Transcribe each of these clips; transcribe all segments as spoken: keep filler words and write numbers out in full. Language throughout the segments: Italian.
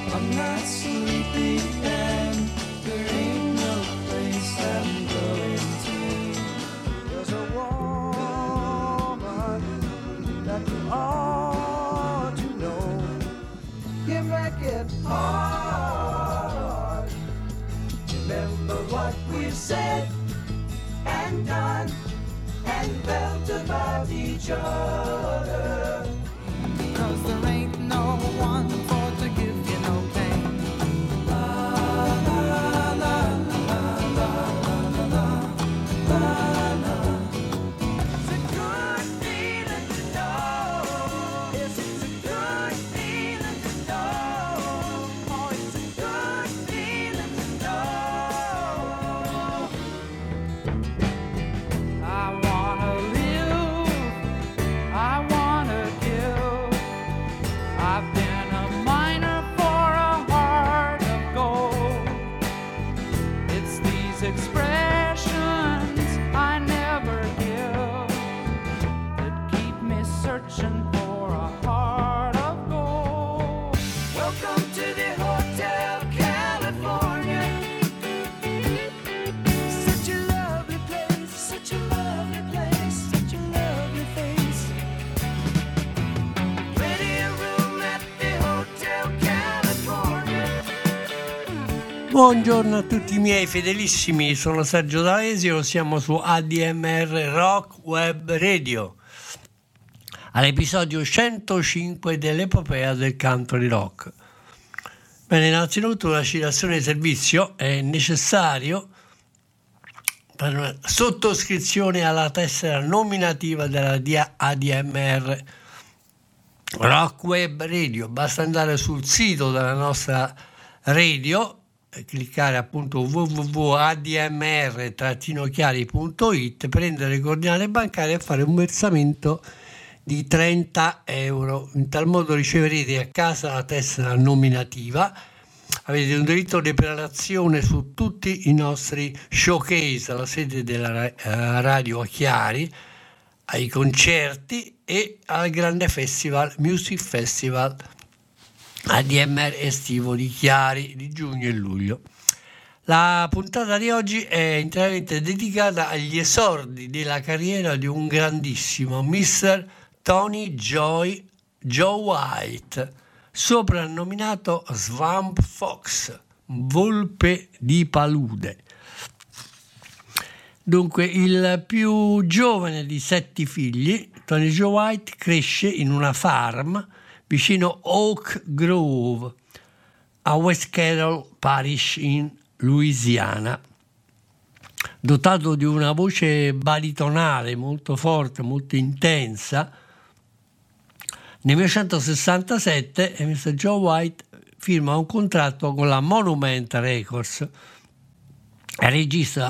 I'm not sleepy and there ain't no place I'm going to. There's a woman that you ought to know. You make it hard. Remember what we've said and done and felt about each other. 'Cause there ain't no one for to give you no pain. La la la la la la la la la. It's a good feeling to know. Yes, it's a good feeling to know. Oh, it's a good feeling to know. I wanna live, I wanna give. I've been a miner for a heart of gold. It's these expressions I never give that keep me searching for a heart of gold. Welcome to the Hotel California. Such a lovely place, such a lovely place, such a lovely face. Plenty of room at the Hotel California. Buongiorno a tutti i miei fedelissimi, sono Sergio D'Alesio, siamo su A D M R Rock Web Radio, all'episodio centocinque dell'epopea del country rock. Bene, innanzitutto la citazione di servizio è necessario per una sottoscrizione alla tessera nominativa della A D M R Rock Web Radio. Basta andare sul sito della nostra radio, cliccare appunto w w w punto a d m r chiari punto i t, prendere le coordinate bancarie e fare un versamento di trenta euro. In tal modo riceverete a casa la tessera nominativa, avete un diritto di prelazione su tutti i nostri showcase alla sede della radio a Chiari, ai concerti e al grande festival Music Festival A D M R estivo di Chiari di giugno e luglio. La puntata di oggi è interamente dedicata agli esordi della carriera di un grandissimo mister Tony Joy Joe White, soprannominato Swamp Fox, volpe di palude. Dunque, il più giovane di sette figli, Tony Joe White cresce in una farm vicino Oak Grove, a West Carroll Parish in Louisiana. Dotato di una voce baritonale molto forte, molto intensa, nel millenovecentosessantasette mister Joe White firma un contratto con la Monument Records e registra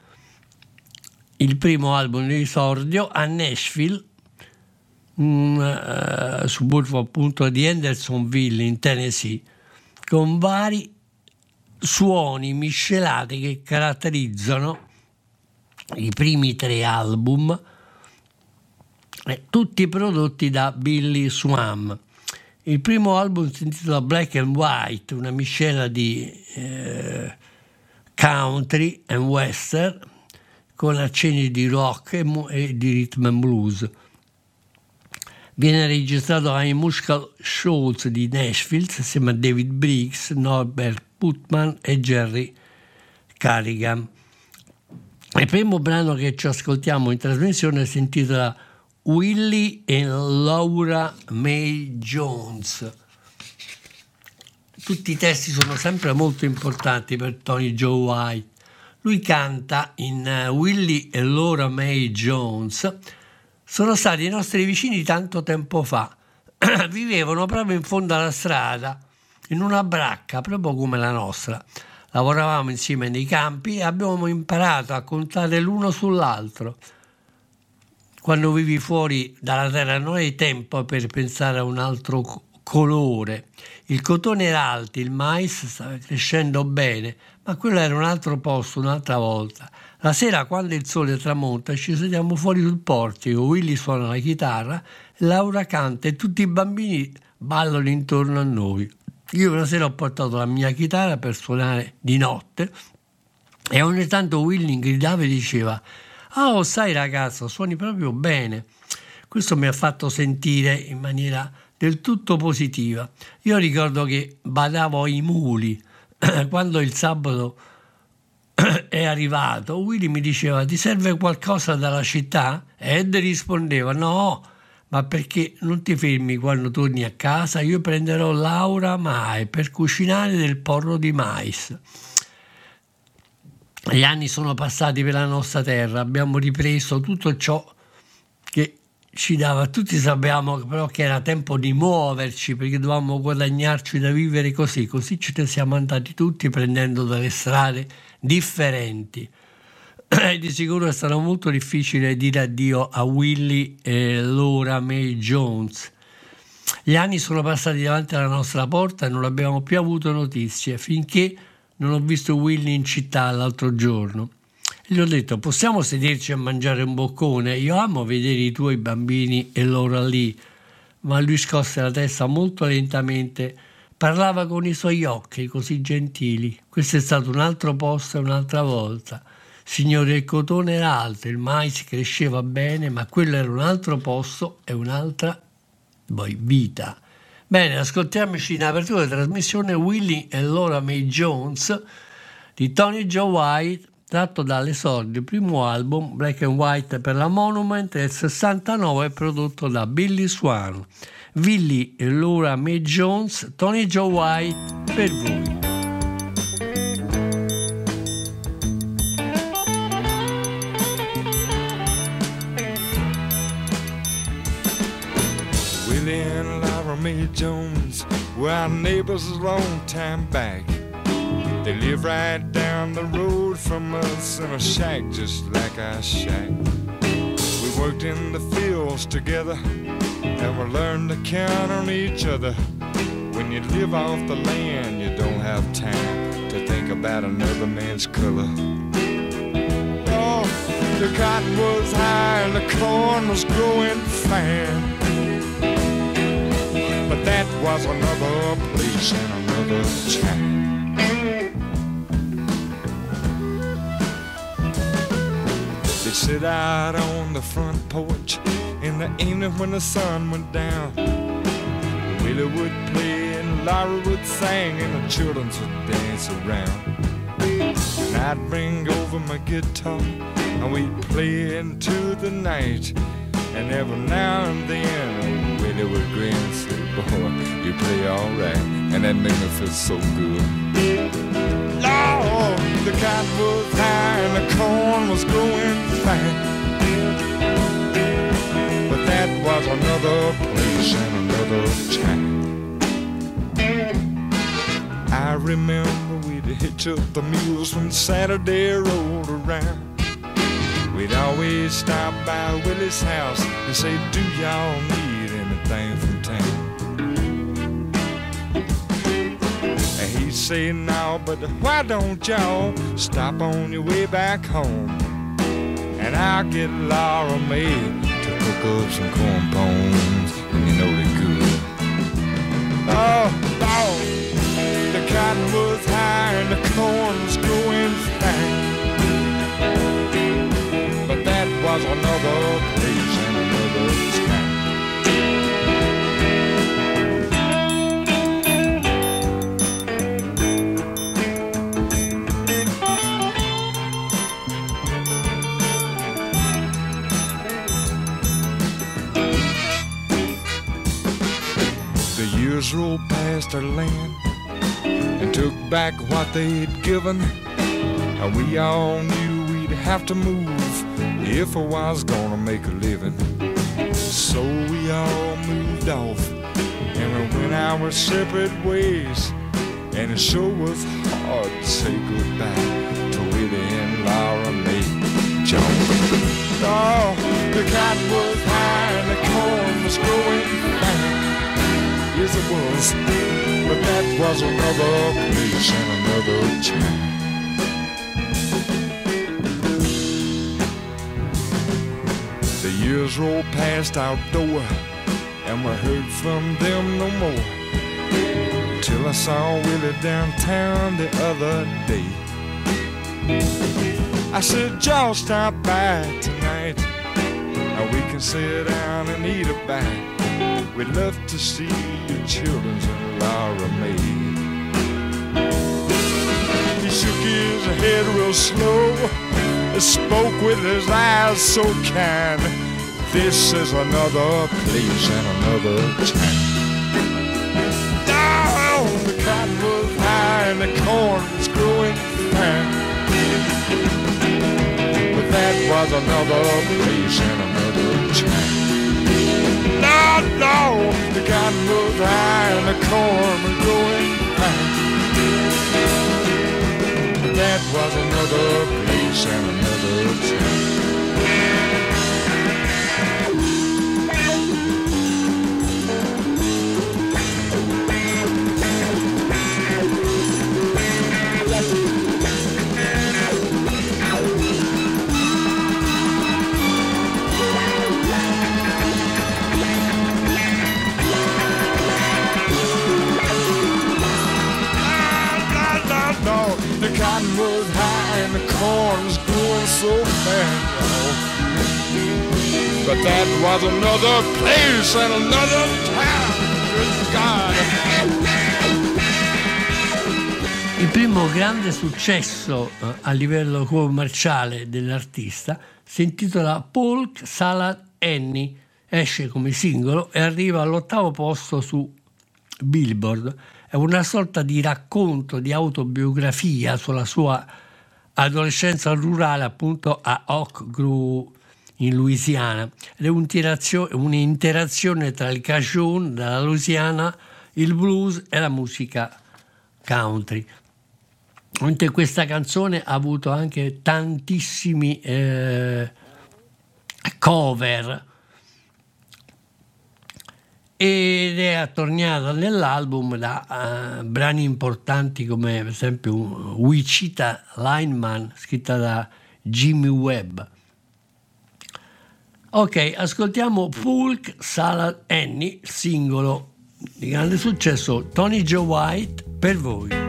il primo album di esordio a Nashville, un uh, suburbo appunto di Hendersonville in Tennessee, con vari suoni miscelati che caratterizzano i primi tre album, eh, tutti prodotti da Billy Swan. Il primo album si intitola Black and White, una miscela di eh, country and western con accenni di rock e, mu- e di rhythm and blues. Viene registrato ai Musical Shows di Nashville assieme a David Briggs, Norbert Putman e Jerry Carrigan. Il primo brano che ci ascoltiamo in trasmissione si intitola Willie e Laura Mae Jones. Tutti i testi sono sempre molto importanti per Tony Joe White. Lui canta in uh, Willie e Laura Mae Jones. Sono stati i nostri vicini tanto tempo fa. Vivevano proprio in fondo alla strada, in una bracca, proprio come la nostra. Lavoravamo insieme nei campi e abbiamo imparato a contare l'uno sull'altro. Quando vivi fuori dalla terra non hai tempo per pensare a un altro co- colore. Il cotone era alto, il mais stava crescendo bene, ma quello era un altro posto, un'altra volta. La sera, quando il sole tramonta, ci sediamo fuori sul portico, Willy suona la chitarra, Laura canta e tutti i bambini ballano intorno a noi. Io una sera ho portato la mia chitarra per suonare di notte e ogni tanto Willy gridava e diceva: oh, sai ragazzo, suoni proprio bene. Questo mi ha fatto sentire in maniera del tutto positiva. Io ricordo che badavo ai muli. Quando il sabato è arrivato, Willy mi diceva: ti serve qualcosa dalla città? Ed rispondeva: no, ma perché non ti fermi quando torni a casa? Io prenderò Laura Mai per cucinare del porro di mais. Gli anni sono passati per la nostra terra, abbiamo ripreso tutto ciò che ci dava. Tutti sappiamo però che era tempo di muoverci, perché dovevamo guadagnarci da vivere così. Così ce ne siamo andati tutti, prendendo delle strade differenti. E di sicuro è stato molto difficile dire addio a Willy e Laura May Jones. Gli anni sono passati davanti alla nostra porta e non abbiamo più avuto notizie, finché non ho visto Willy in città l'altro giorno. E gli ho detto: possiamo sederci a mangiare un boccone? Io amo vedere i tuoi bambini e loro lì. Ma lui scosse la testa molto lentamente. Parlava con i suoi occhi così gentili. Questo è stato un altro posto e un'altra volta. Signore, il cotone era alto, il mais cresceva bene, ma quello era un altro posto e un'altra poi vita. Bene, ascoltiamoci in apertura della trasmissione Willy e Laura May Jones di Tony Joe White, tratto dall'esordio primo album Black and White per la Monument del sessantanove, prodotto da Billy Swan. Willy e Laura May Jones, Tony Joe White per voi. Willie and Laura May Jones were our neighbors a long time back. They live right down the road from us in a shack just like our shack. We worked in the fields together and we learned to count on each other. When you live off the land, you don't have time to think about another man's color. Oh, the cotton was high and the corn was growing fine. But that was another place and another time. They'd sit out on the front porch in the evening when the sun went down. Willie would play and Laura would sing and the children would dance around. And I'd bring over my guitar and we'd play into the night. And every now and then Willie would grin and say, boy, you play all right. And that made me feel so good. Lord, the cotton was high and the corn was growing fine. But that was another place and another time. I remember we'd hitch up the mules when Saturday rolled around. We'd always stop by Willie's house and say, do y'all need anything from town? And he'd say, no, but why don't y'all stop on your way back home? And I'll get Laura May to cook up some corn pones, and you know they're good. Oh, oh, the cotton was high and the corn was growing fine. But that was another place and another time. The years rolled past our land and took back what they'd given, and we all knew we'd have to move if I was gonna make a living. So we all moved off and we went our separate ways, and it sure was hard to say goodbye to Willie and Laura May Jones. Oh, the cotton was high and the corn was growing fine. Yes, it was, but that was another place and another time. The years rolled past our door and we heard from them no more, till I saw Willie downtown the other day. I said, Joe, stop by tonight. Now we can sit down and eat a bite. We'd love to see your children's and Laura Mae. He shook his head real slow, spoke with his eyes so kind. This is another place and another time. Down the cotton was high and the corn was growing fine. But that was another place and another time. No, no, the cotton was high and the corn was growing fine. But that was another place and another time. The cotton was high and the corn was growing so fast, but that was another place and another time. Good God. Il primo grande successo eh, a livello commerciale dell'artista si intitola Polk Salad Annie, esce come singolo e arriva all'ottavo posto su Billboard. È una sorta di racconto, di autobiografia sulla sua adolescenza rurale appunto a Oak Grove in Louisiana. Ed è un'interazione tra il cajun della Louisiana, il blues e la musica country. Mentre questa canzone ha avuto anche tantissimi eh, cover ed è attorniata nell'album da uh, brani importanti come per esempio Wichita Lineman, scritta da Jimmy Webb. Ok, ascoltiamo Polk Salad Annie, singolo di grande successo, Tony Joe White, per voi.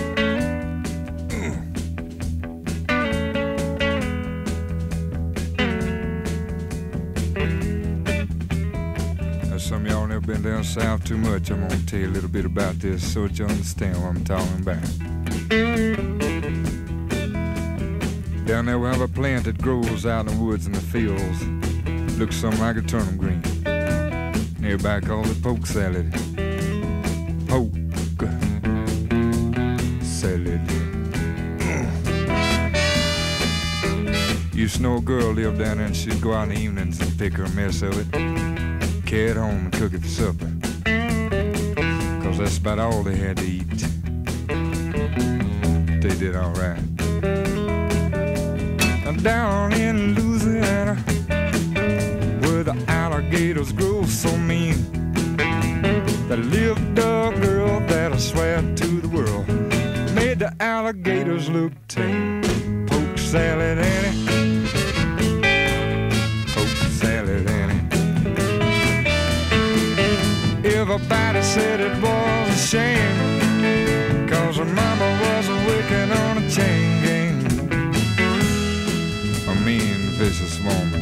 Some of y'all never been down south too much. I'm gonna tell you a little bit about this so that you understand what I'm talking about. Down there we have a plant that grows out in the woods and the fields. Looks something like a turnip green. Nearby called it poke salad. Poke salad. Used to know a girl lived down there and she'd go out in the evenings and pick her a mess of it, carry it home and cook it for supper, cause that's about all they had to eat. They did alright. Down in Louisiana, where the alligators grow so mean, there lived a girl that I swear to the world made the alligators look tame. Poke salad Annie, poke salad Annie. Everybody said it was a shame, cause her mama was working on a chain gang. A mean, vicious woman.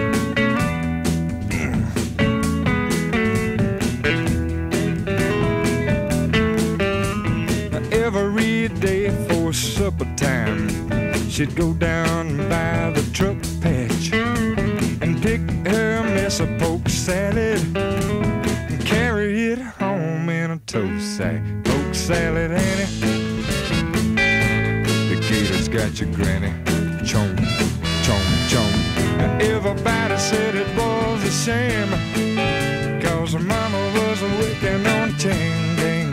Every day for supper time, she'd go down by the truck patch and pick her mess of poke salad and carry it home in a tow sack. Poke salad Annie, the gators got your granny. Chomp, chomp, chomp. And everybody said it was a shame, cause her mama was working on a chain gang.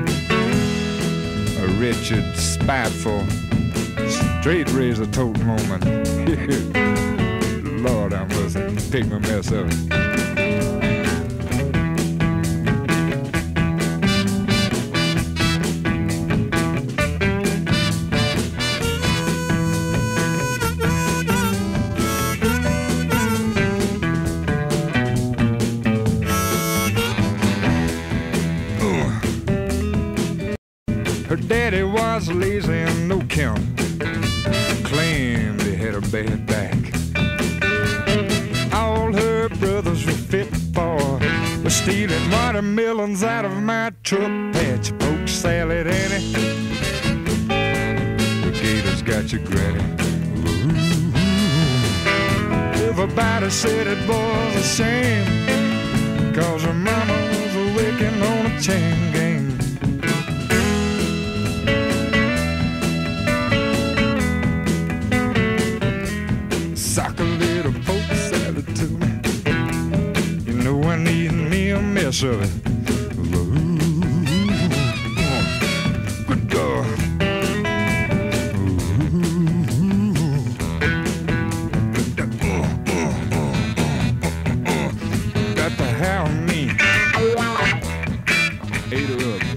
A wretched, spiteful, straight razor tote woman. Lord, I must pick my mess up. Her daddy was lazy and no count, claimed he had a bad back. All her brothers were fit for was stealing watermelons out of my truck patch. Poke salad, Annie, the gators got your granny. Ooh. Everybody said it was a shame, cause her mama was a working on a chain gang. Sock a little poke salad to me, you know I need me a mess of it. Ooh, good God. Got to have me. Ate her up.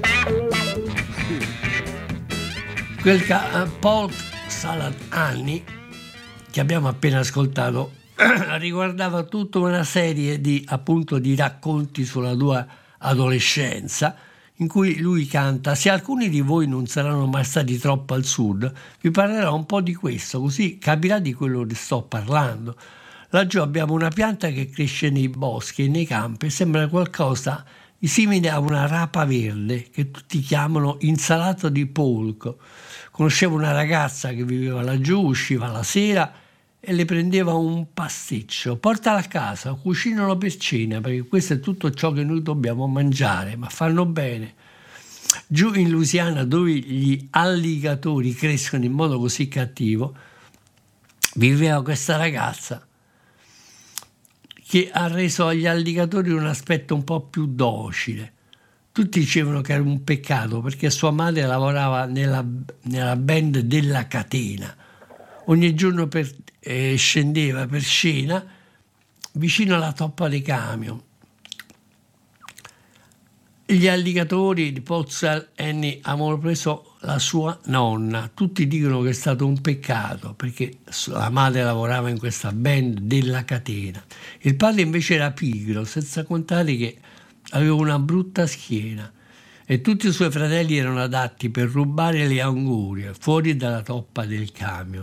Quel ca- Polk Salad Annie che abbiamo appena ascoltato riguardava tutta una serie di, appunto, di racconti sulla tua adolescenza, in cui lui canta: se alcuni di voi non saranno mai stati troppo al sud, vi parlerò un po' di questo, così capirà di quello che sto parlando. Laggiù abbiamo una pianta che cresce nei boschi e nei campi e sembra qualcosa di simile a una rapa verde che tutti chiamano insalata di polco. Conoscevo una ragazza che viveva laggiù, usciva la sera e le prendeva un pasticcio. Portala a casa, cucinalo per cena, perché questo è tutto ciò che noi dobbiamo mangiare, ma fanno bene. Giù in Louisiana, dove gli alligatori crescono in modo così cattivo, viveva questa ragazza che ha reso agli alligatori un aspetto un po' più docile. Tutti dicevano che era un peccato perché sua madre lavorava nella, nella band della catena. Ogni giorno per, eh, scendeva per scena vicino alla toppa dei camion. Gli alligatori di Pottsville Annie avevano preso la sua nonna. Tutti dicono che è stato un peccato perché la madre lavorava in questa band della catena. Il padre invece era pigro, senza contare che aveva una brutta schiena e tutti i suoi fratelli erano adatti per rubare le angurie fuori dalla toppa del camion.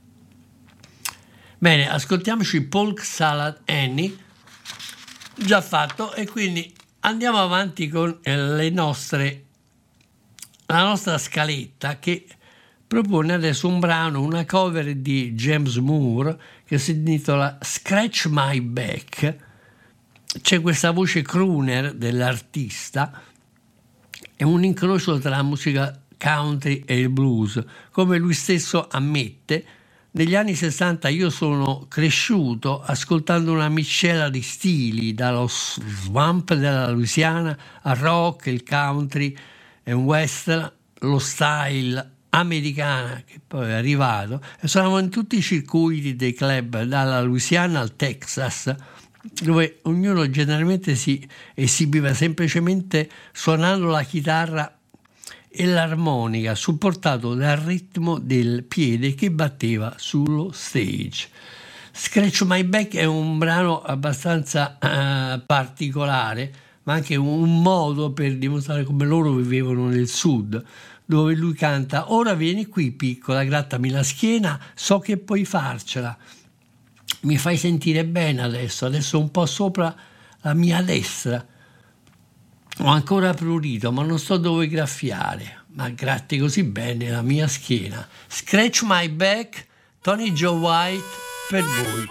Bene, ascoltiamoci Polk Salad Annie, già fatto, e quindi andiamo avanti con le nostre, la nostra scaletta che propone adesso un brano, una cover di James Moore che si intitola Scratch My Back. C'è questa voce crooner dell'artista, è un incrocio tra la musica country e il blues. Come lui stesso ammette, negli anni sessanta io sono cresciuto ascoltando una miscela di stili, dallo swamp della Louisiana al rock, il country e un western, lo style americana che poi è arrivato, e suonavo in tutti i circuiti dei club dalla Louisiana al Texas, dove ognuno generalmente si esibiva semplicemente suonando la chitarra e l'armonica, supportato dal ritmo del piede che batteva sullo stage. Scratch My Back è un brano abbastanza uh, particolare, ma anche un modo per dimostrare come loro vivevano nel sud, dove lui canta: ora vieni qui piccola, grattami la schiena, so che puoi farcela. Mi fai sentire bene adesso, adesso un po' sopra la mia destra. Ho ancora prurito, ma non so dove graffiare. Ma gratti così bene la mia schiena. Scratch My Back, Tony Joe White, per voi.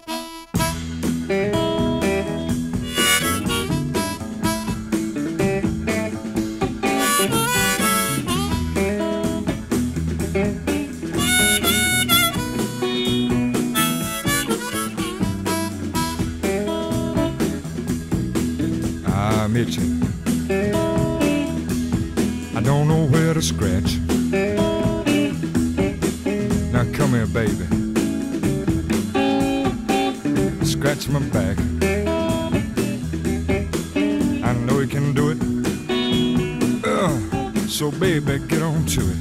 I'm itching. I don't know where to scratch. Now come here, baby. Scratch my back. I know you can do it. Uh, so baby, get on to it.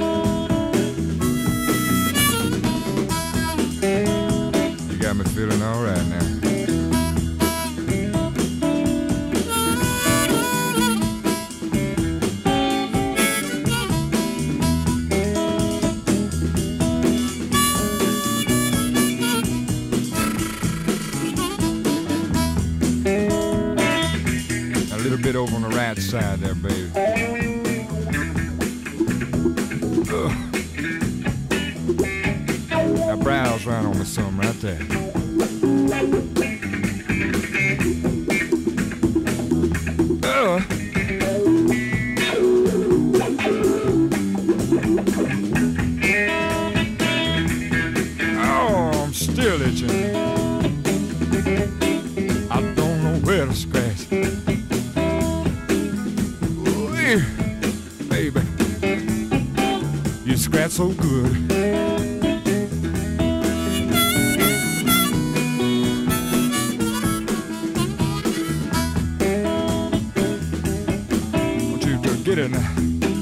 You got me feeling all right now. side there, baby. Ugh. Now browse right on with some right there. Ugh. Oh, I'm still itching. I don't know where to scratch. Ooh, baby, you scratch so good. Won't you just get it now?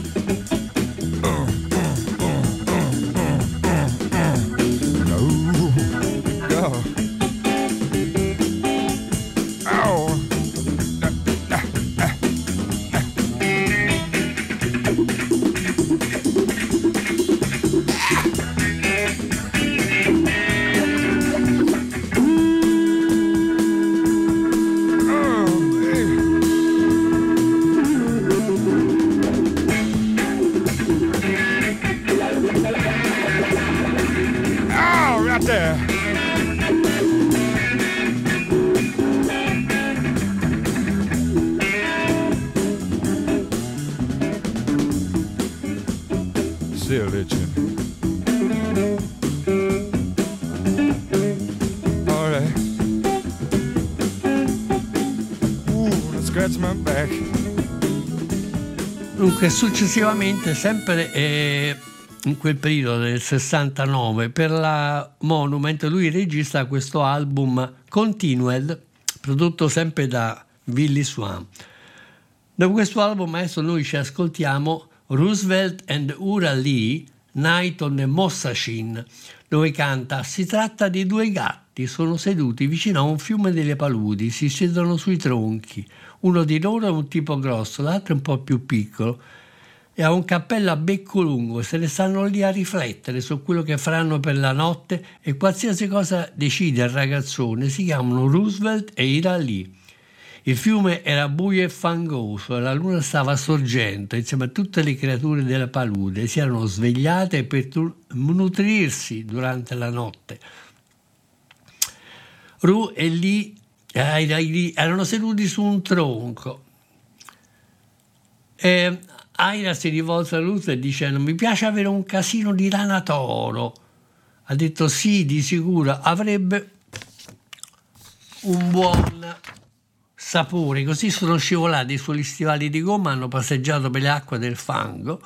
Still itching. All right. Ooh, let's scratch my back. Dunque, successivamente, sempre eh, in quel periodo del sessantanove, per la Monument lui registra questo album Continued, prodotto sempre da Billy Swan. Da questo album adesso noi ci ascoltiamo Roosevelt and Ura Lee, Night on the Mossachin, dove canta: si tratta di due gatti, sono seduti vicino a un fiume delle paludi, si siedono sui tronchi, uno di loro è un tipo grosso, l'altro è un po' più piccolo e ha un cappello a becco lungo, se ne stanno lì a riflettere su quello che faranno per la notte e qualsiasi cosa decide il ragazzone. Si chiamano Roosevelt e Ira Lee. Il fiume era buio e fangoso e la luna stava sorgendo insieme a tutte le creature della palude. Si erano svegliate per tu- nutrirsi durante la notte. Ru e Lee, eh, Lee erano seduti su un tronco. E Aira si rivolse a Roosevelt dicendo: mi piace avere un casino di rana toro. Ha detto sì, di sicuro avrebbe un buon sapore. Così sono scivolati sugli stivali di gomma, hanno passeggiato per le acque del fango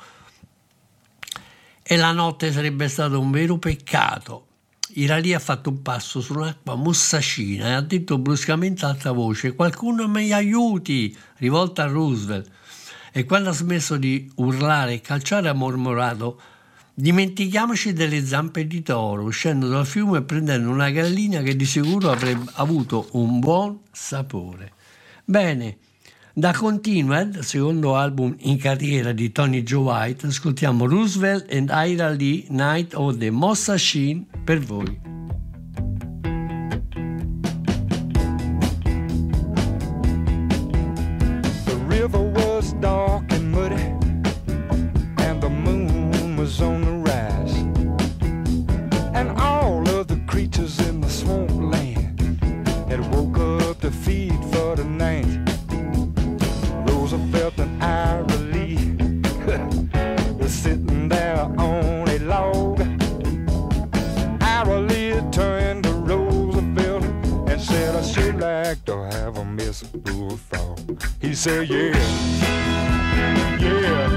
e la notte sarebbe stato un vero peccato. Irali ha fatto un passo su un'acqua mossacina e ha detto bruscamente ad alta voce: qualcuno mi aiuti, rivolta a Roosevelt. E quando ha smesso di urlare e calciare ha mormorato: dimentichiamoci delle zampe di toro, uscendo dal fiume e prendendo una gallina che di sicuro avrebbe avuto un buon sapore. Bene, da Continued, secondo album in carriera di Tony Joe White, ascoltiamo Roosevelt and Ira Lee, Night of the Mossachin, per voi. The river was dark and muddy, and the moon was on the rise, and all of the creatures in the swamp land had woke up to feed for the night. Roosevelt and Ira Lee were sitting there on a log. Ira Lee turned to Roosevelt and said, I should like to have a Miss Bullfrog. He said, yeah, yeah,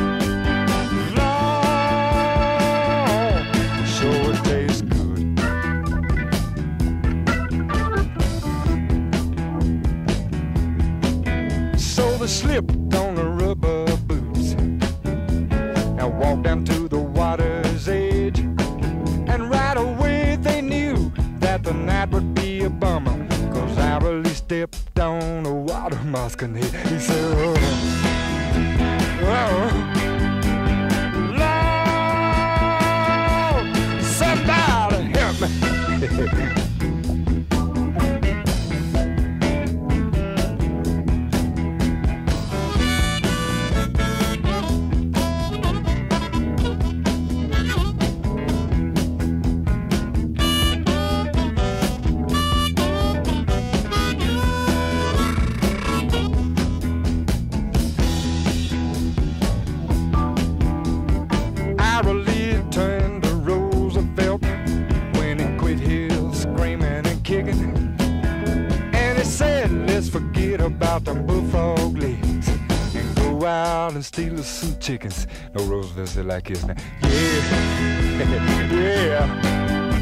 Lord, sure it tastes good. So they slipped on the rubber boots and walked down to the water's edge, and right away they knew that the night would be a bummer, cause Ira Lee stepped on a water moccasin. He, he said, oh, oh, Lord, somebody help me. relief turned to Roosevelt when he quit his screaming and kicking. And he said, let's forget about the bullfrog legs and go out and steal us some chickens. No, Roosevelt said like this now. Yeah, yeah.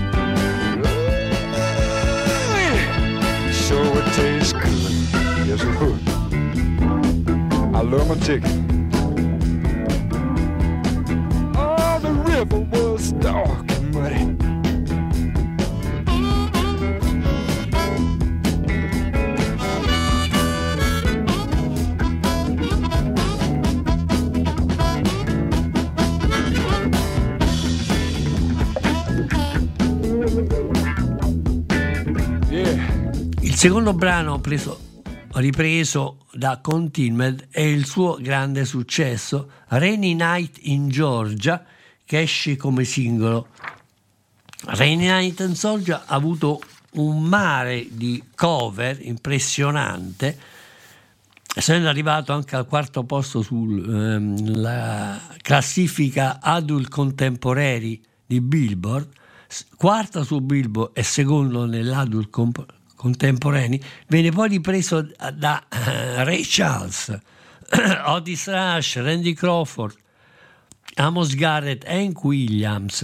Sure it tastes good. Yes, it would. I love my chicken. Oh, the river was dark and muddy. Il secondo brano preso, ripreso da Continued è il suo grande successo, Rainy Night in Georgia, che esce come singolo. Rainy Night in Georgia ha avuto un mare di cover impressionante, essendo arrivato anche al quarto posto sulla ehm, classifica Adult Contemporary di Billboard, quarta su Billboard e secondo nell'Adult Contemporary contemporanei. Viene poi ripreso da uh, Ray Charles, Otis Rush, Randy Crawford, Amos Garrett, Hank Williams,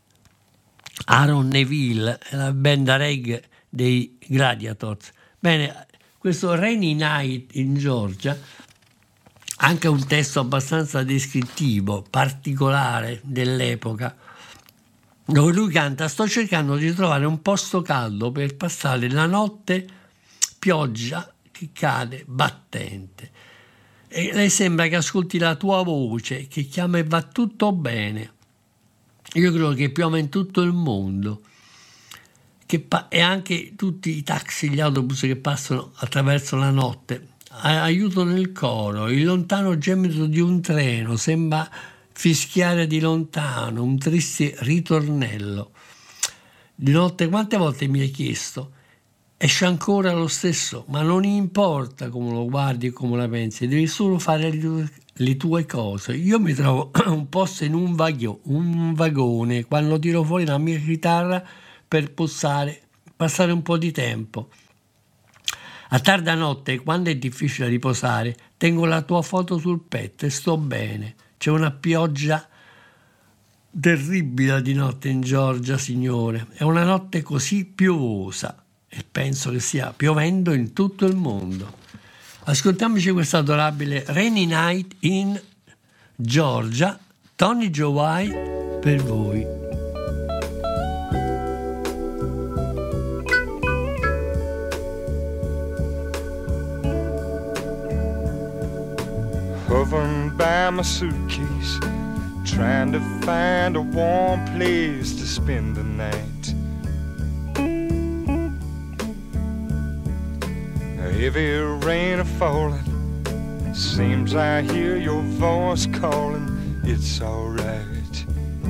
Aaron Neville e la band reggae dei Gladiators. Bene, questo Rainy Night in Georgia, anche un testo abbastanza descrittivo, particolare dell'epoca, dove lui canta: sto cercando di trovare un posto caldo per passare la notte, pioggia che cade battente, e lei sembra che ascolti la tua voce che chiama e va tutto bene. Io credo che piove in tutto il mondo, che pa- e anche tutti i taxi, gli autobus che passano attraverso la notte aiutano il coro. Il lontano gemito di un treno sembra fischiare di lontano, un triste ritornello. Di notte quante volte mi hai chiesto: esce ancora lo stesso, ma non importa come lo guardi e come la pensi, devi solo fare le tue, le tue cose. Io mi trovo un posto in un, vaghio, un vagone quando tiro fuori la mia chitarra per passare, passare un po' di tempo. A tarda notte, quando è difficile riposare, tengo la tua foto sul petto e sto bene. C'è una pioggia terribile di notte in Georgia, signore. È una notte così piovosa e penso che stia piovendo in tutto il mondo. Ascoltiamoci questo adorabile Rainy Night in Georgia, Tony Joe White per voi. Hovering by my suitcase, trying to find a warm place to spend the night. A heavy rain a falling, seems I hear your voice calling, it's alright.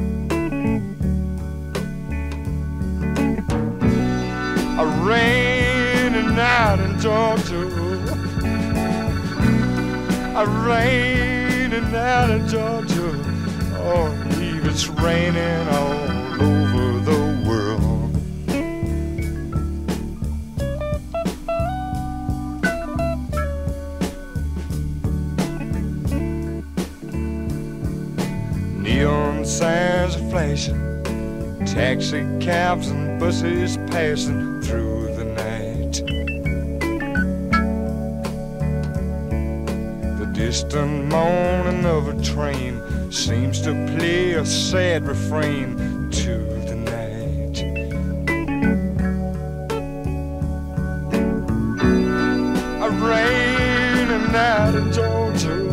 A rainy night in Georgia, a rainy night in Georgia, oh, believe it's raining all over the world. Neon signs are flashing, taxi cabs and buses passing through the night. Distant moaning of a train seems to play a sad refrain to the night. A rainy night in Georgia,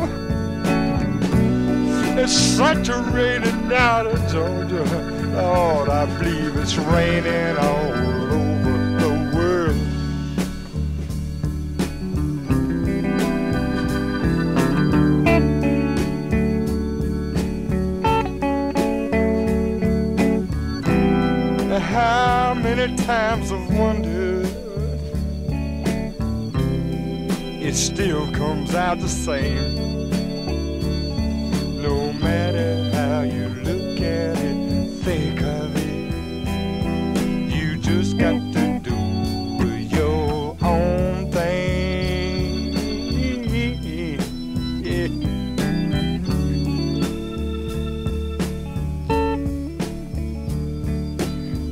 it's such a rainy night in Georgia, Lord, I believe it's raining all over the world. How many times I've wondered, it still comes out the same. No matter how you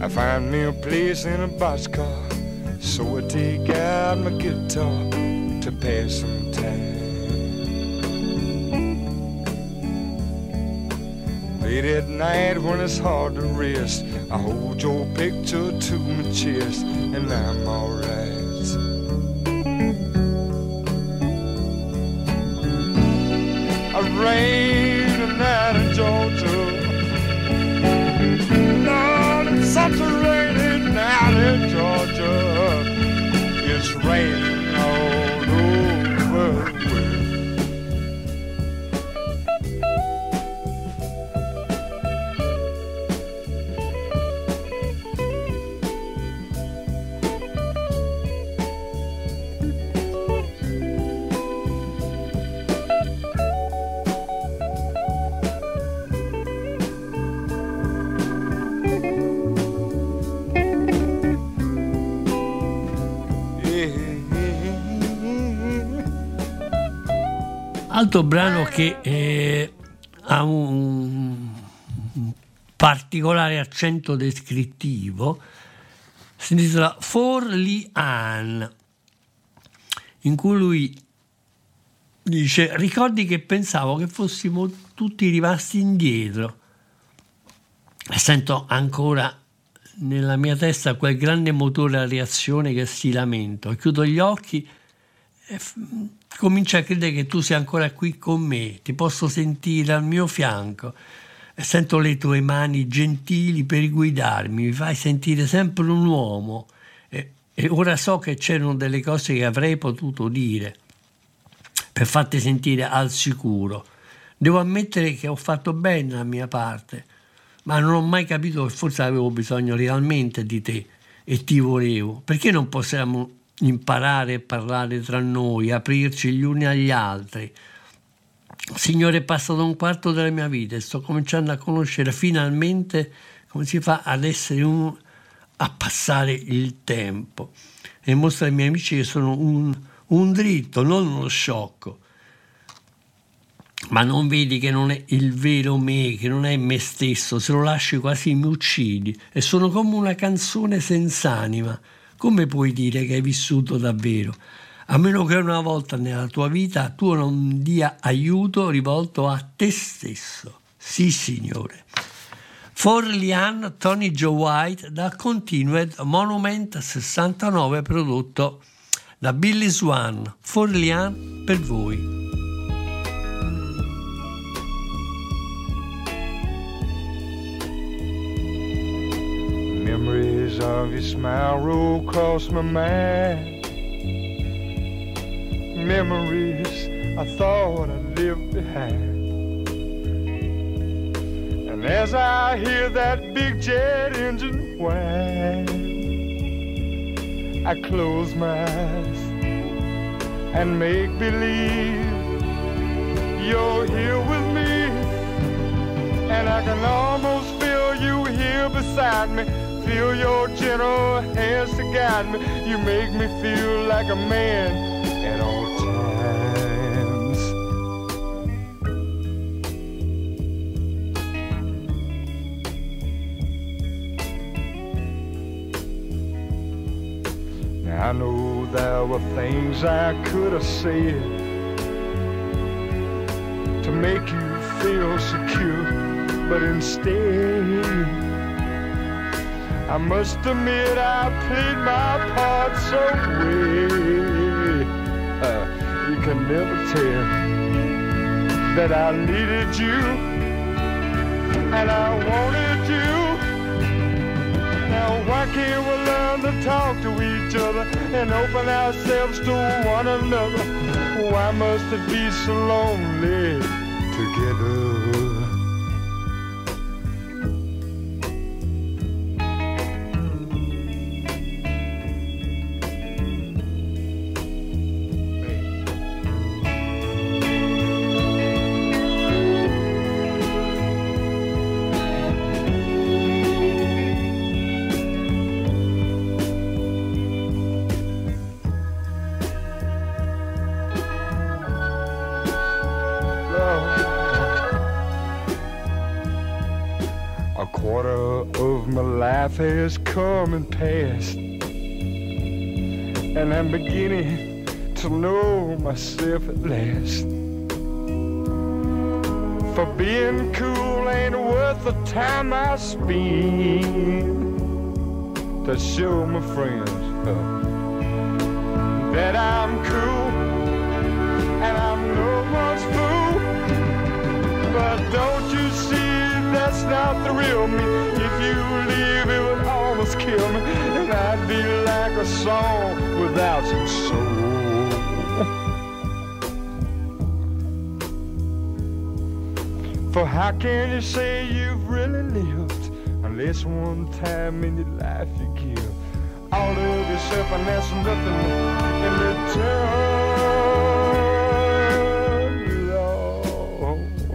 I find me a place in a boxcar, so I take out my guitar to pass some time. Late at night when it's hard to rest, I hold your picture to my chest and I'm alright. I rain the night in Georgia, Lord, it's such a rainy night in Georgia. It's raining all over the world. Altro brano che eh, ha un, un particolare accento descrittivo si intitola For Li-an, in cui lui dice: ricordi che pensavo che fossimo tutti rimasti indietro e sento ancora nella mia testa quel grande motore a reazione che si lamenta. Chiudo gli occhi e f- comincio a credere che tu sia ancora qui con me, ti posso sentire al mio fianco e sento le tue mani gentili per guidarmi, mi fai sentire sempre un uomo e, e ora so che c'erano delle cose che avrei potuto dire per farti sentire al sicuro. Devo ammettere che ho fatto bene la mia parte, ma non ho mai capito che forse avevo bisogno realmente di te e ti volevo. Perché non possiamo imparare a parlare tra noi, aprirci gli uni agli altri? Signore, è passato un quarto della mia vita e sto cominciando a conoscere finalmente come si fa ad essere un, a passare il tempo e mostro ai miei amici che sono un, un dritto, non uno sciocco. Ma non vedi che non è il vero me, che non è me stesso? Se lo lasci quasi mi uccidi e sono come una canzone senza anima. Come puoi dire che hai vissuto davvero? A meno che una volta nella tua vita tu non dia aiuto rivolto a te stesso. Sì, signore. For Li-an, Tony Joe White, da Continued Monument sessantanove, prodotto da Billy Swan. For Li-an per voi. Memories of your smile roll across my mind. Memories I thought I'd left behind. And as I hear that big jet engine whine, I close my eyes and make believe you're here with me. And I can almost feel you here beside me. Feel your gentle hands to guide me. You make me feel like a man at all times. Now I know there were things I could have said to make you feel secure, but instead I must admit I played my part so well. Uh, you can never tell that I needed you and I wanted you. Now why can't we learn to talk to each other and open ourselves to one another? Why must it be so lonely together? A quarter of my life has come and passed, and I'm beginning to know myself at last. For being cool ain't worth the time I spend to show my friends uh, that I'm cool and I'm no one's fool. But don't you see, that's not the real me. If you leave, it would almost kill me, and I'd be like a song without some soul. For how can you say you've really lived unless one time in your life you give all of yourself and there's nothing in return, Lord.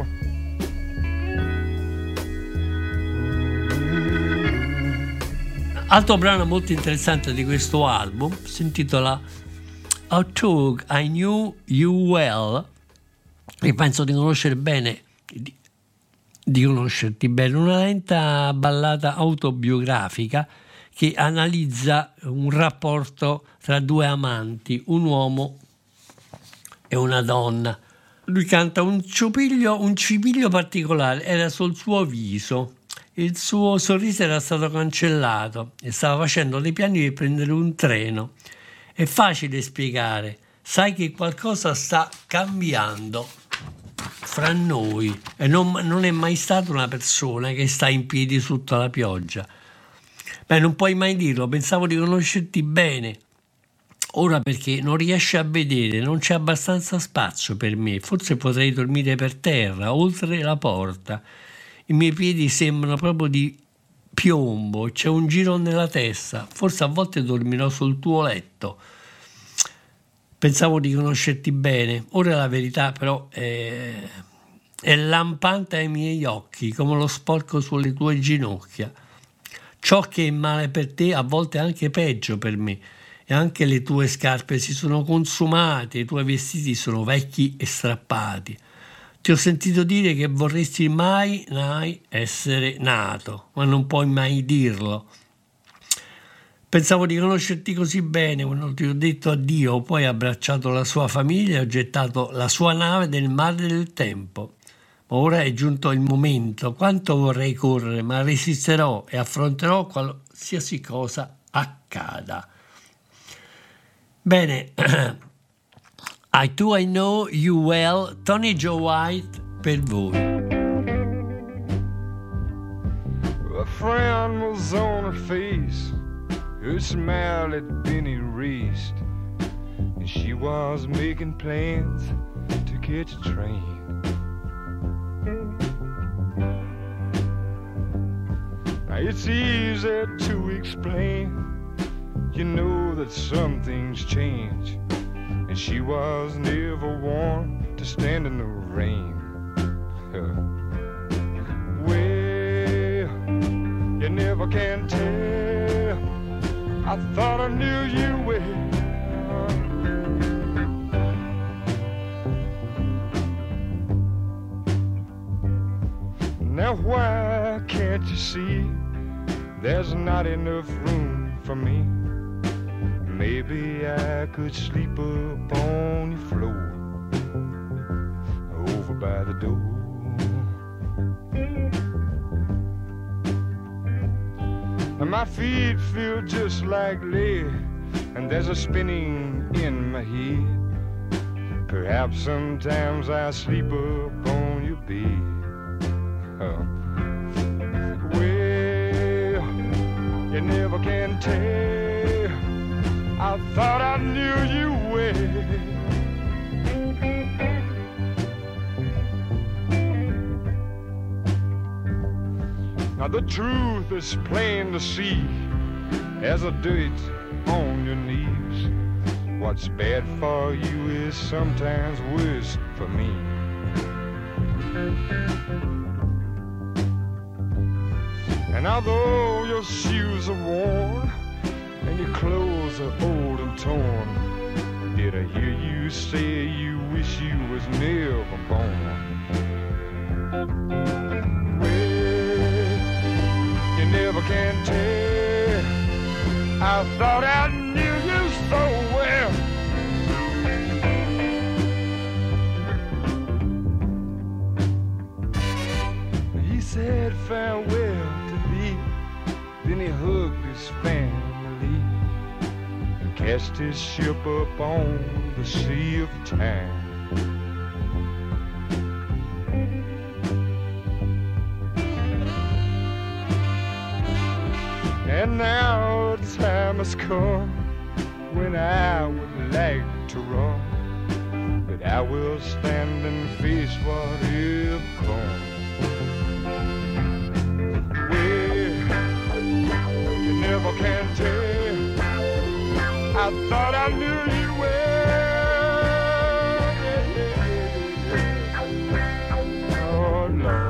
Altro brano molto interessante di questo album si intitola A Tug I Knew You Well, e penso di conoscere bene di, di conoscerti bene, una lenta ballata autobiografica che analizza un rapporto tra due amanti, un uomo e una donna. Lui canta un ciupiglio, un cipiglio particolare, era sul suo viso. Il suo sorriso era stato cancellato e stava facendo dei piani per prendere un treno. È facile spiegare, sai che qualcosa sta cambiando fra noi e non, non è mai stata una persona che sta in piedi sotto la pioggia. Beh, non puoi mai dirlo, pensavo di conoscerti bene. Ora perché non riesci a vedere, non c'è abbastanza spazio per me, forse potrei dormire per terra, oltre la porta. I miei piedi sembrano proprio di piombo, c'è un giro nella testa, forse a volte dormirò sul tuo letto. Pensavo di conoscerti bene, ora la verità però è, è lampante ai miei occhi, come lo sporco sulle tue ginocchia. Ciò che è male per te a volte è anche peggio per me, e anche le tue scarpe si sono consumate, i tuoi vestiti sono vecchi e strappati. Ti ho sentito dire che vorresti mai, mai essere nato, ma non puoi mai dirlo. Pensavo di conoscerti così bene quando ti ho detto addio, poi ho abbracciato la sua famiglia e ho gettato la sua nave nel mare del tempo. Ma ora è giunto il momento, quanto vorrei correre, ma resisterò e affronterò qualsiasi cosa accada. Bene, I Do I Know You Well, Tony Joe White per voi. A frown was on her face, her smile had been erased, and she was making plans to catch a train. Now it's easy to explain, you know that some things change, and she was never one to stand in the rain. Well, you never can tell, I thought I knew you well. Now why can't you see there's not enough room for me? Maybe I could sleep upon your floor over by the door. And my feet feel just like lead, and there's a spinning in my head. Perhaps sometimes I sleep upon your bed. Oh. Well, you never can tell, I thought I knew you well. Now the truth is plain to see as a dirt on your knees. What's bad for you is sometimes worse for me. And although your shoes are worn and your clothes are old and torn, did I hear you say you wish you was never born? Well, never can tell. I thought I knew you so well. He said farewell to thee, then he hugged his family and cast his ship up on the sea of time. And now the time has come when I would like to run, but I will stand and face whatever comes. Well, you never can tell. I thought I knew you well. Yeah, yeah, yeah. Oh, Lord.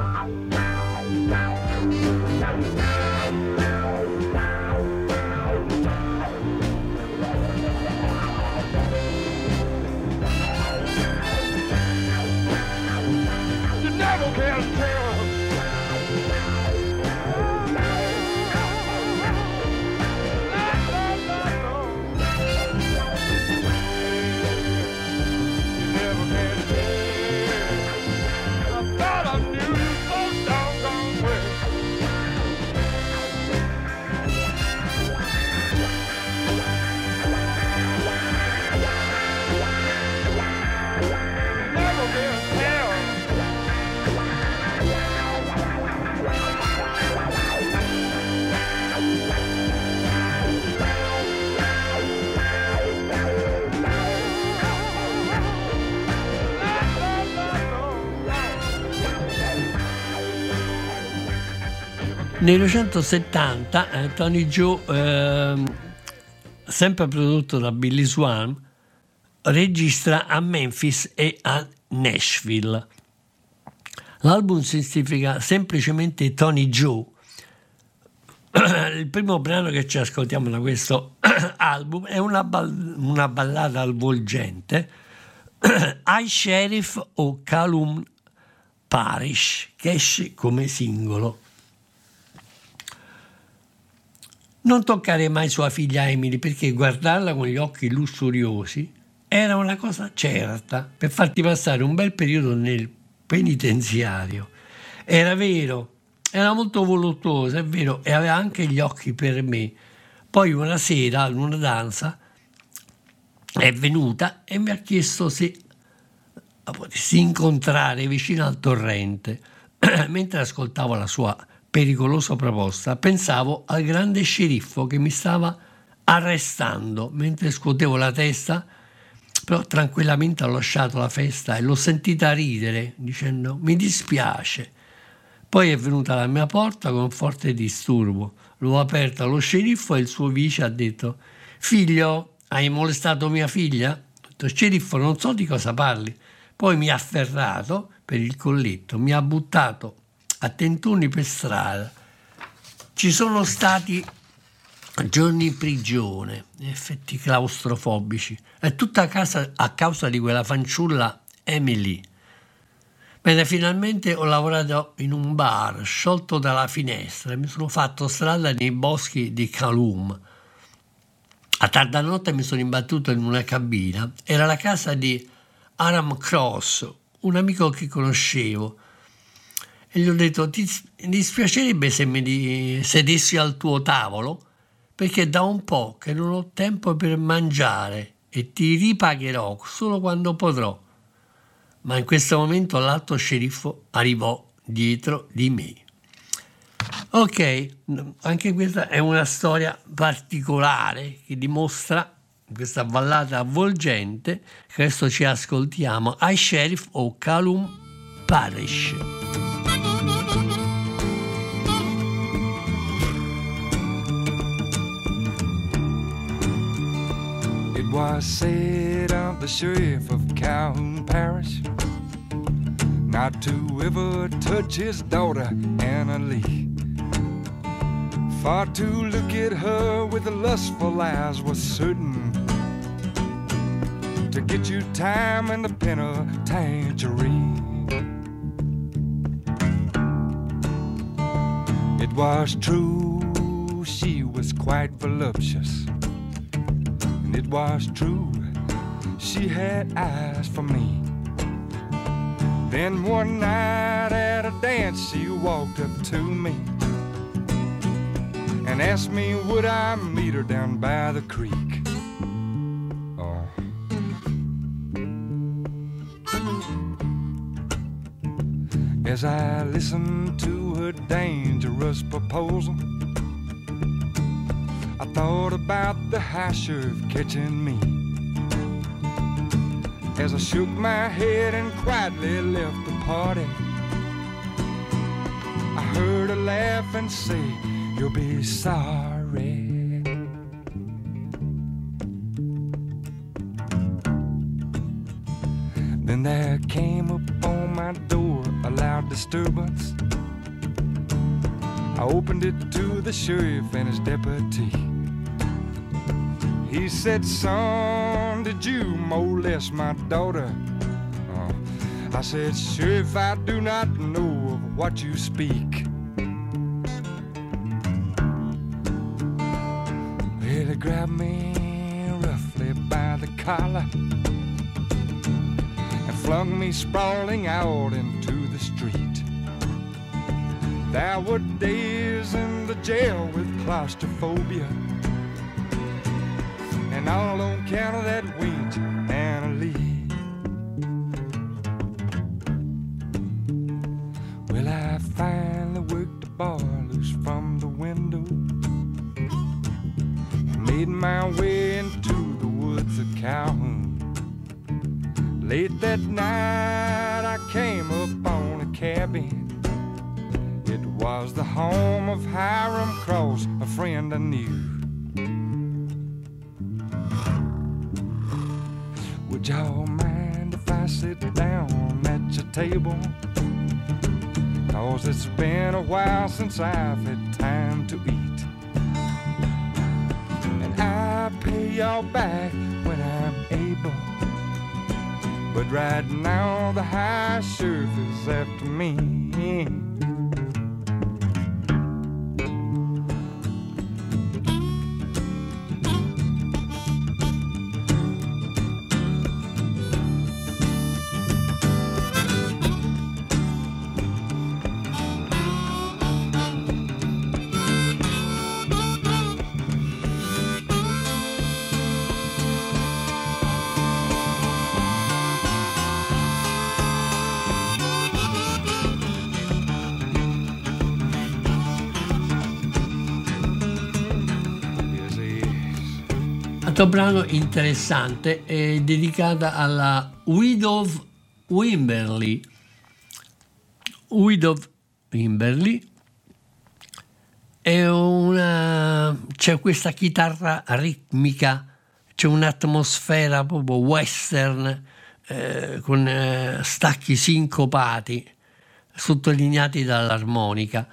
Nel millenovecentosettanta eh, Tony Joe, eh, sempre prodotto da Billy Swan, registra a Memphis e a Nashville. L'album significa semplicemente Tony Joe. Il primo brano che ci ascoltiamo da questo album è una, ball- una ballata avvolgente, I Sheriff o Calum Parish, che esce come singolo. Non toccare mai sua figlia Emily, perché guardarla con gli occhi lussuriosi era una cosa certa per farti passare un bel periodo nel penitenziario. Era vero, era molto voluttuosa, è vero, e aveva anche gli occhi per me. Poi una sera, in una danza, è venuta e mi ha chiesto se la potessi incontrare vicino al torrente. Mentre ascoltavo la sua pericolosa proposta, pensavo al grande sceriffo che mi stava arrestando. Mentre scuotevo la testa, però tranquillamente ho lasciato la festa e l'ho sentita ridere dicendo mi dispiace. Poi è venuta alla mia porta con forte disturbo. L'ho aperta, lo sceriffo e il suo vice ha detto: figlio, hai molestato mia figlia? Ho detto: sceriffo, non so di cosa parli. Poi mi ha afferrato per il colletto, mi ha buttato a tentoni per strada. Ci sono stati giorni in prigione, effetti claustrofobici, è tutta a, casa, a causa di quella fanciulla Emily. Bene, finalmente ho lavorato in un bar, sciolto dalla finestra, mi sono fatto strada nei boschi di Calum. A tarda notte mi sono imbattuto in una cabina, era la casa di Aram Cross, un amico che conoscevo, e gli ho detto: ti dispiacerebbe se mi sedessi al tuo tavolo? Perché da un po' che non ho tempo per mangiare e ti ripagherò solo quando potrò. Ma in questo momento l'altro sceriffo arrivò dietro di me. Ok, anche questa è una storia particolare che dimostra questa ballata avvolgente. Questo ci ascoltiamo, I Sheriff o Calum Parish. It was said of the sheriff of Calhoun Parish not to ever touch his daughter Anna Lee. For to look at her with the lustful eyes was certain to get you time in the penitentiary. It was true quite voluptuous, and it was true, she had eyes for me. Then one night at a dance she walked up to me and asked me would I meet her down by the creek. Oh. As I listened to her dangerous proposal, I thought about the high sheriff catching me. As I shook my head and quietly left the party, I heard her laugh and say, "You'll be sorry." Then there came upon my door a loud disturbance. I opened it to the sheriff and his deputy. He said, "Son, did you molest my daughter?" Oh. I said, "Sheriff, I do not know of what you speak." Well, he grabbed me roughly by the collar and flung me sprawling out into the street. There were days in the jail with claustrophobia, and all on account of that wench Anna Lee. Well, I finally worked the bar loose from the window, made my way into the woods of Calhoun. Late that night I came upon a cabin. It was the home of Hiram Cross, a friend I knew. Would y'all mind if I sit down at your table? 'Cause it's been a while since I've had time to eat, and I'll pay y'all back when I'm able. But right now the high sheriff is after me. Questo brano interessante è dedicata alla Widow Wimberly. Widow Wimberly è una, c'è questa chitarra ritmica, c'è un'atmosfera proprio western eh, con eh, stacchi sincopati sottolineati dall'armonica,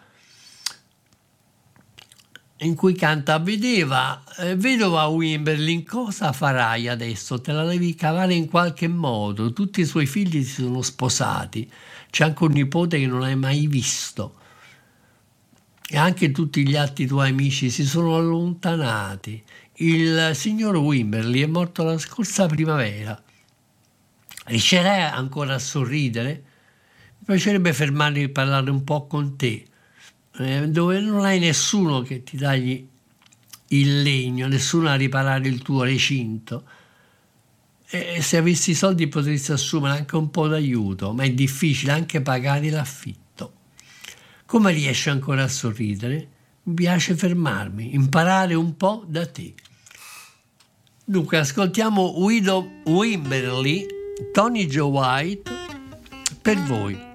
in cui canta: vedeva, eh, vedova Wimberly, cosa farai adesso? Te la devi cavare in qualche modo, tutti i suoi figli si sono sposati, c'è anche un nipote che non hai mai visto e anche tutti gli altri tuoi amici si sono allontanati. Il signor Wimberly è morto la scorsa primavera. Riuscirai ancora a sorridere? Mi piacerebbe fermarmi e parlare un po' con te, dove non hai nessuno che ti tagli il legno, nessuno a riparare il tuo recinto, e se avessi i soldi potresti assumere anche un po' d'aiuto, ma è difficile anche pagare l'affitto. Come riesci ancora a sorridere? Mi piace fermarmi, imparare un po' da te. Dunque ascoltiamo Widow Wimberly, Tony Joe White, per voi.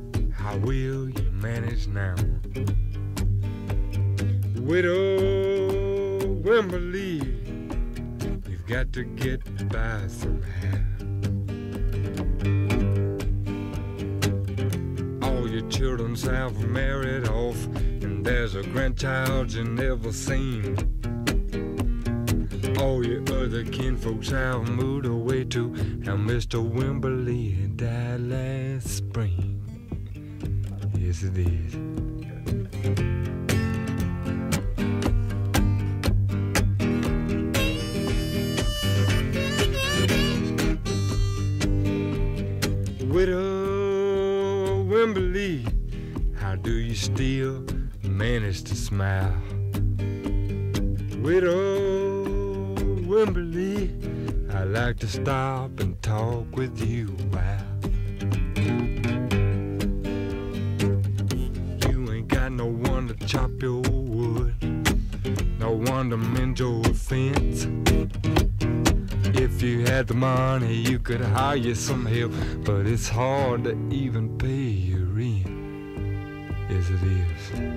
Widow Wembley, we've got to get by somehow. All your children have married off, and there's a grandchild you never seen. All your other kinfolks have moved away too, and Mister Wembley died last spring. Yes, it is. Widow Wembley, how do you still manage to smile? Widow Wembley, I like to stop and talk with you a while. You ain't got no one to chop your wood, no one to mend your fence. If you had the money, you could hire some help, but it's hard to even pay your rent. Yes, it is.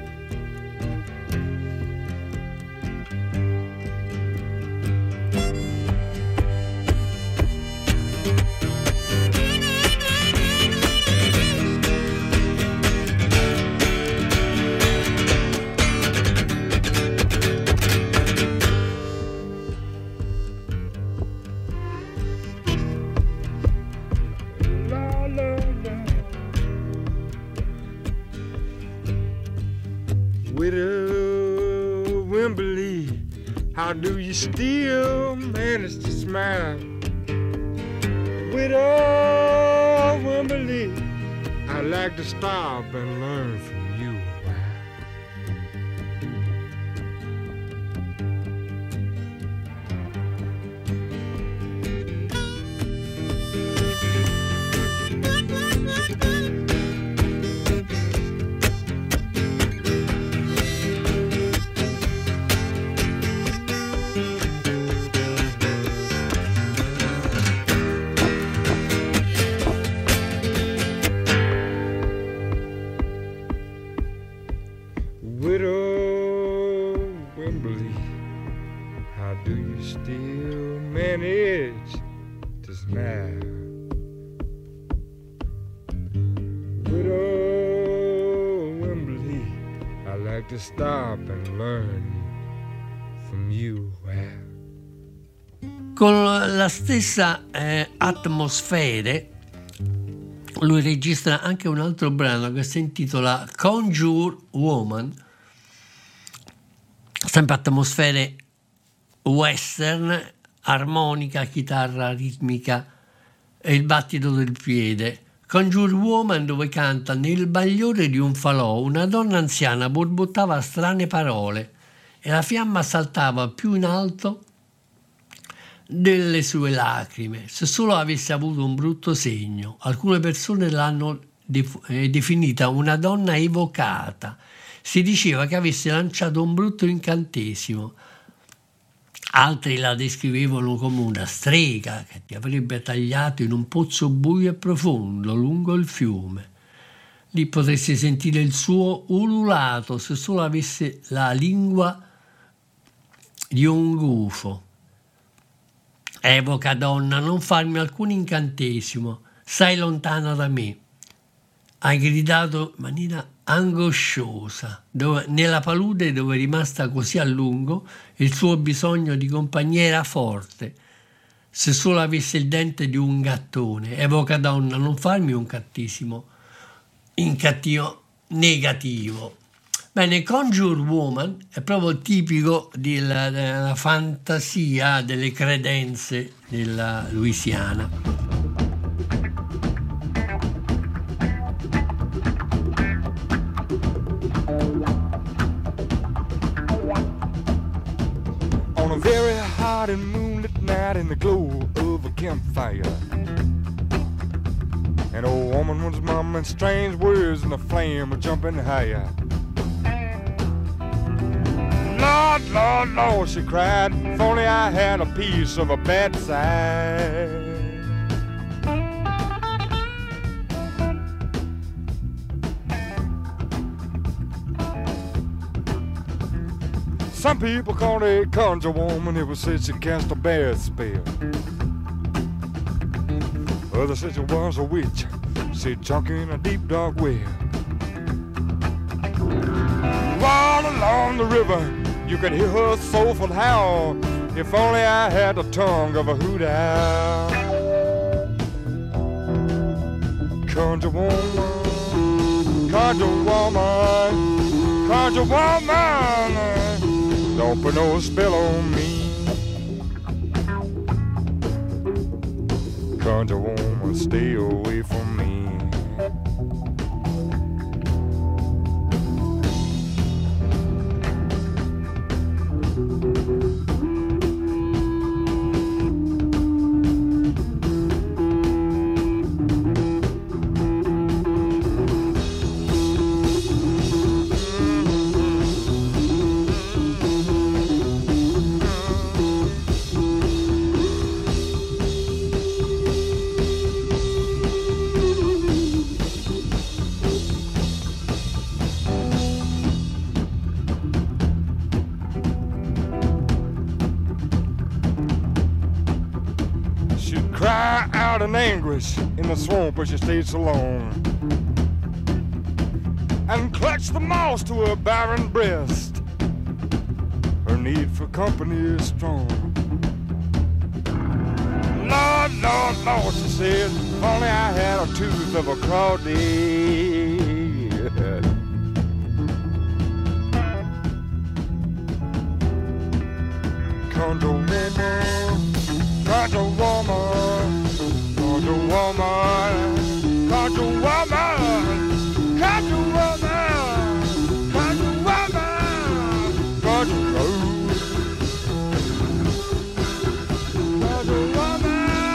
Widow Wembley, how do you still manage to smile? Widow Wembley, I like to stop and learn from you a while. Widow Wembley, how do you still manage to smile? Widow Wembley, I like to stop and learn from you. Con la stessa eh, atmosfere lui registra anche un altro brano che si intitola Conjure Woman, sempre atmosfere western, armonica, chitarra ritmica e il battito del piede. Conjure Woman, dove canta: nel bagliore di un falò una donna anziana borbottava strane parole e la fiamma saltava più in alto delle sue lacrime. Se solo avesse avuto un brutto segno. Alcune persone l'hanno def- eh, definita una donna evocata. Si diceva che avesse lanciato un brutto incantesimo. Altri la descrivevano come una strega che ti avrebbe tagliato in un pozzo buio e profondo lungo il fiume. Lì potresti sentire il suo ululato se solo avesse la lingua di un gufo. Evoca, donna, non farmi alcun incantesimo, stai lontana da me. Hai gridato in maniera angosciosa, dove, nella palude dove è rimasta così a lungo. Il suo bisogno di compagnia era forte. Se solo avesse il dente di un gattone. Evoca, donna, non farmi un cattivissimo, incattivo, negativo. Bene, Conjure Woman è proprio tipico della, della fantasia, delle credenze della Louisiana. On a very hot and moonlit night in the glow of a campfire, an old woman was mumbling strange words and the flame was jumping higher. Lord, Lord, Lord, she cried, if only I had a piece of a bad side. Some people call her a conjure woman. It was said she cast a bad spell. Others said she was a witch. She sunk in a deep dark well. All along the river, you could hear her soulful howl. If only I had the tongue of a hoot owl. Conjure woman, conjure woman, conjure woman. Don't put no spell on me. Conjure woman, stay away from me. In anguish in the swamp where she stayed so long, and clutched the moss to her barren breast. Her need for company is strong. Lord, Lord, Lord, she said, if only I had a tooth of a crawdad. Conjure woman, conjure woman, conjure woman, conjure woman, conjure woman, conjure woman, conjure woman, conjure woman.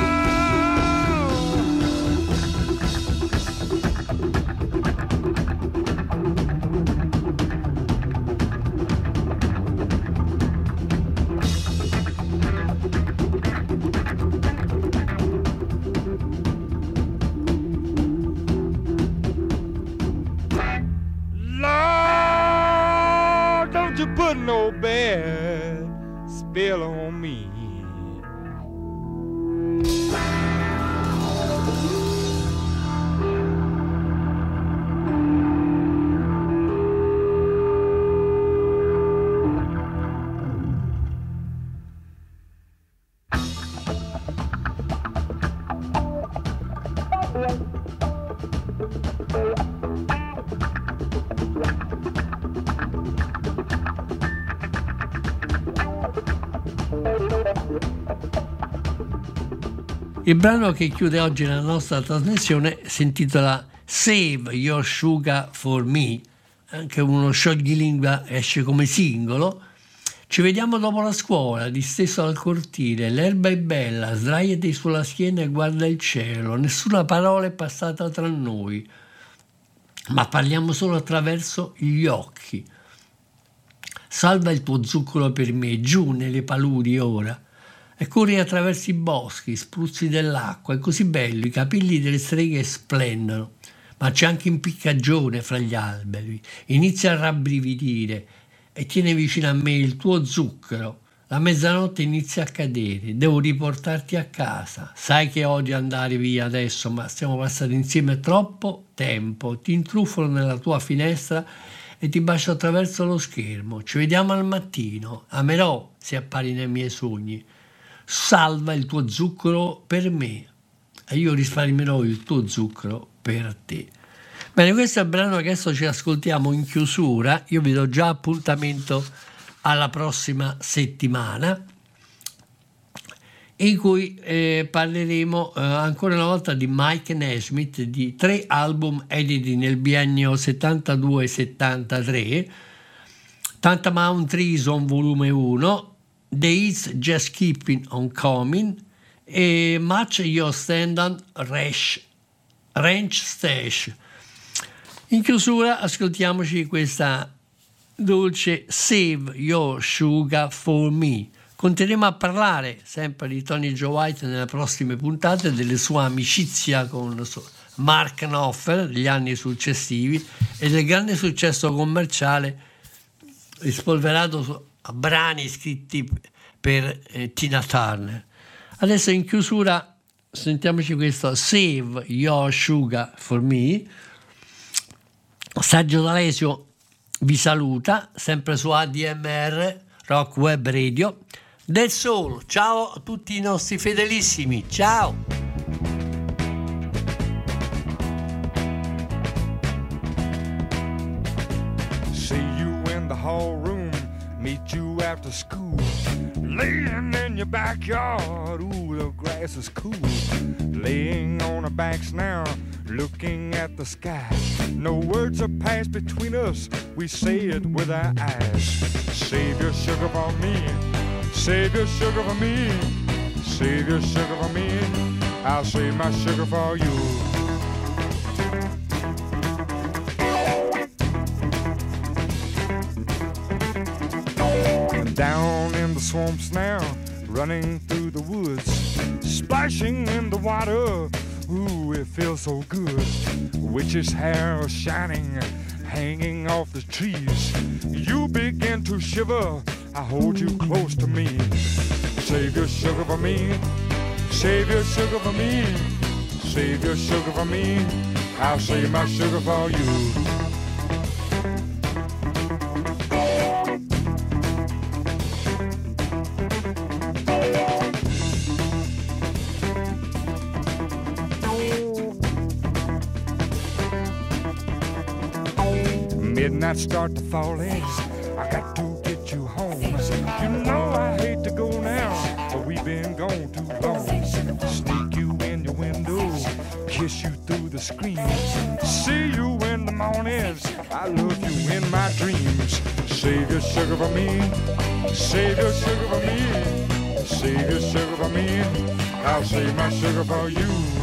Put no bad spell on me. Il brano che chiude oggi la nostra trasmissione si intitola Save Your Sugar for Me, anche uno scioglilingua esce come singolo. Ci vediamo dopo la scuola, disteso al cortile, l'erba è bella, sdraiati sulla schiena e guarda il cielo, nessuna parola è passata tra noi, ma parliamo solo attraverso gli occhi. Salva il tuo zucchero per me, giù nelle paludi ora, e corri attraverso i boschi, spruzzi dell'acqua, è così bello, i capelli delle streghe splendono, ma c'è anche impiccagione fra gli alberi, inizia a rabbrividire e tiene vicino a me il tuo zucchero, la mezzanotte inizia a cadere, devo riportarti a casa, sai che odio andare via adesso, ma stiamo passando insieme troppo tempo, ti intruffolo nella tua finestra e ti bacio attraverso lo schermo, ci vediamo al mattino, amerò se appari nei miei sogni. Salva il tuo zucchero per me e io risparmierò il tuo zucchero per te. Bene, questo è il brano che adesso ci ascoltiamo in chiusura. Io vi do già appuntamento alla prossima settimana, in cui eh, parleremo eh, ancora una volta di Mike Nesmith, di tre album editi nel biennio settantadue settantatré, Tantamount Treason volume uno, The Hits Just Keeping on Coming e Match Your Standard Ranch Stash. In chiusura ascoltiamoci questa dolce Save Your Sugar for Me. Continueremo a parlare sempre di Tony Joe White nelle prossime puntate, delle sue amicizia con Mark Knopfler negli anni successivi e del grande successo commerciale rispolverato brani scritti per eh, Tina Turner. Adesso in chiusura sentiamoci questo Save Your Sugar for Me. Sergio D'Alesio vi saluta, sempre su A D M R Rock Web Radio del Soul. Ciao a tutti i nostri fedelissimi, ciao! See you in the hall room, meet you after school, laying in your backyard, ooh, the grass is cool, laying on our backs now, looking at the sky. No words are passed between us, we say it with our eyes. Save your sugar for me, save your sugar for me, save your sugar for me, I'll save my sugar for you. Down in the swamps now, running through the woods, splashing in the water, ooh, it feels so good. Witch's hair shining, hanging off the trees. You begin to shiver, I hold you close to me. Save your sugar for me, save your sugar for me, save your sugar for me, I'll save my sugar for you. Midnight start to fall in, I got to get you home. You know I hate to go now, but we've been gone too long. Sneak you in your window, kiss you through the screen, see you in the mornings, I love you in my dreams. Save your sugar for me, save your sugar for me, save your sugar for me, I'll save my sugar for you.